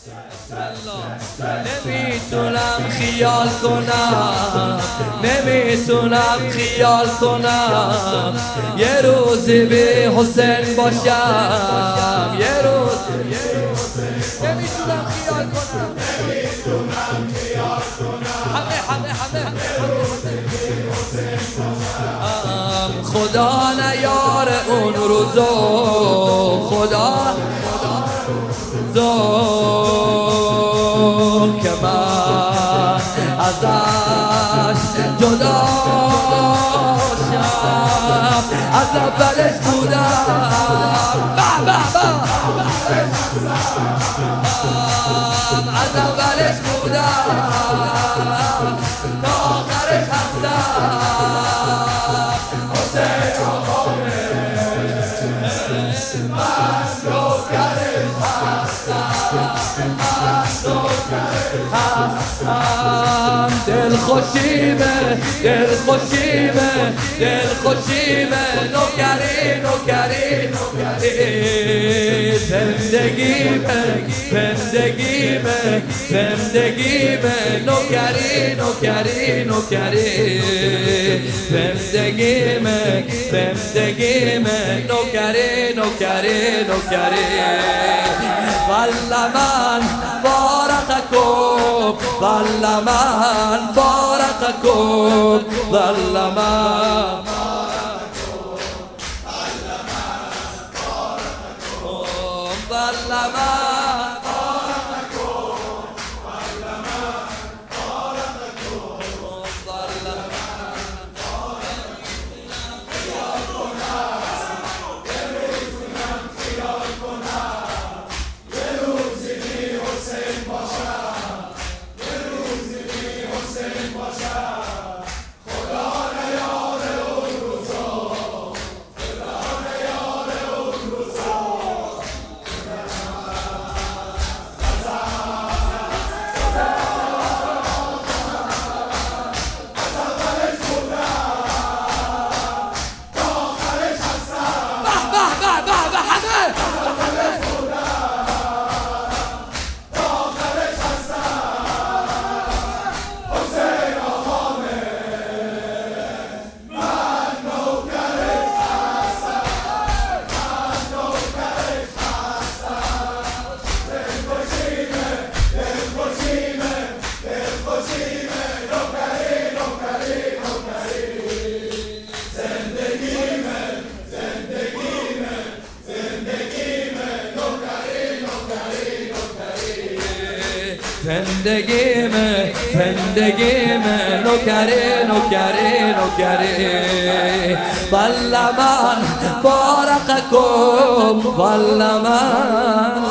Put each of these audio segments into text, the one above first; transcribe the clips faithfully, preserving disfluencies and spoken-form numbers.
نمیتونم خیال کنم، نمیتونم خیال کنم یه روزی به حسین باشم، یه روز نمیتونم خیال کنم، نمیتونم خیال کنم همه همه همه خدا نیار اون روزو، خدا زو که من ازش جدا شم، از اولش بودم به به به از اولش بودم تا آخرش هستم. حسین آقامه من نوکرش هستم، هستم دل خوشیمه، دل خوشیمه، دل خوشیمه نوکری نوکری نوکری زندگیمه، زندگیمه، زندگیمه نوکری نوکری نوکری زندگیمه، زندگیمه نوکری نوکری نوکری والله من فارقكم، والله من فارقكم، والله من والله من زندگی میں زندگی میں نوکری نوکری نوکری والله من فارقكم والله من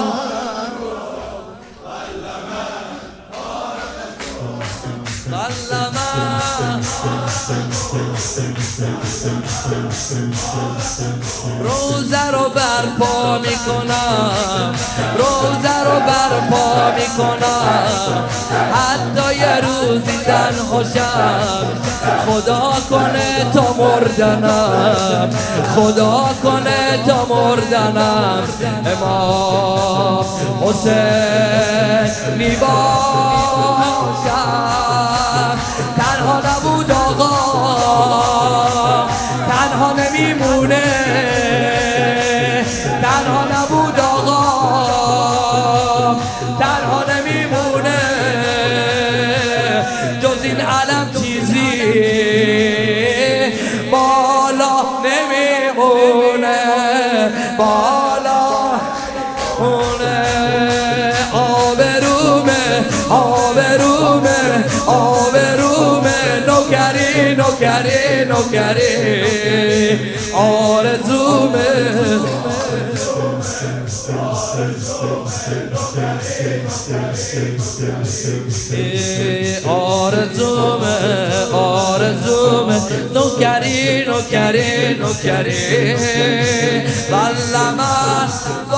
والله من روزه رو برپا میکنم روزه رو برپا میکنم حتی یه روزی تنها شم خدا کنه تا مردنم خدا کنه تا مردنم امام حسین میباشم تنها نبود آقا تنها نمیمونه تنها نبود آقا تنها نمیمونه جز این علم چیزی بالا نمیمونه بالا مونه آبرومه آبرومه آبرومه نوکری نوکری نوکری آرزومه آرزومه آرزومه نوکری نوکری نوکری والله من